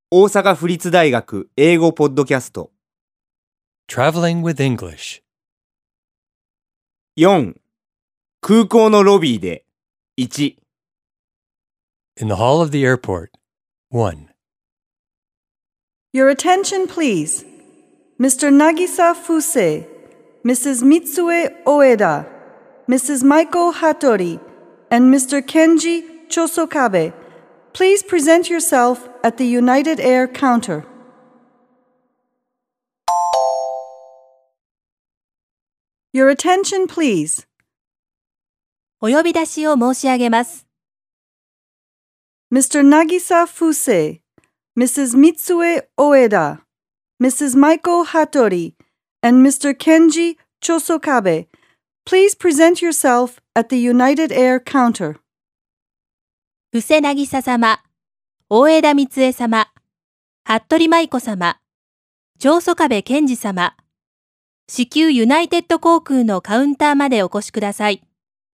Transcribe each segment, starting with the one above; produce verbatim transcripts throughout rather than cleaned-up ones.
大阪府立大学英語ポッドキャスト Traveling with English. よん. 空港のロビーで いち. In the hall of the airport. one. Your attention, please. Mister Nagisa Fuse, Missus Mitsue Oeda, Missus Maiko Hattori, and Mister Kenji Chosokabe, please present yourself at the United Air counter. Your attention, please. お呼び出しを申し上げます。 Mister Nagisa Fuse, Missus Mitsue Oeda, Missus Maiko Hattori, and Mister Kenji Chosokabe, please present yourself at the United Air counter. 布施渚様、大枝光恵様、服部舞子様、長曽我部健二様、至急ユナイテッド航空のカウンターまでお越しください。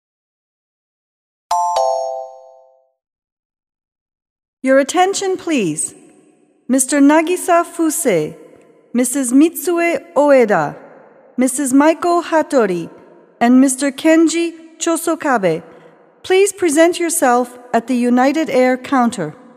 Your attention, please. Mister Nagisa Fuse, Missus Mitsue Oeda, Missus Maiko Hattori, and Mister Kenji Chosokabe, please present yourself at the United Air counter.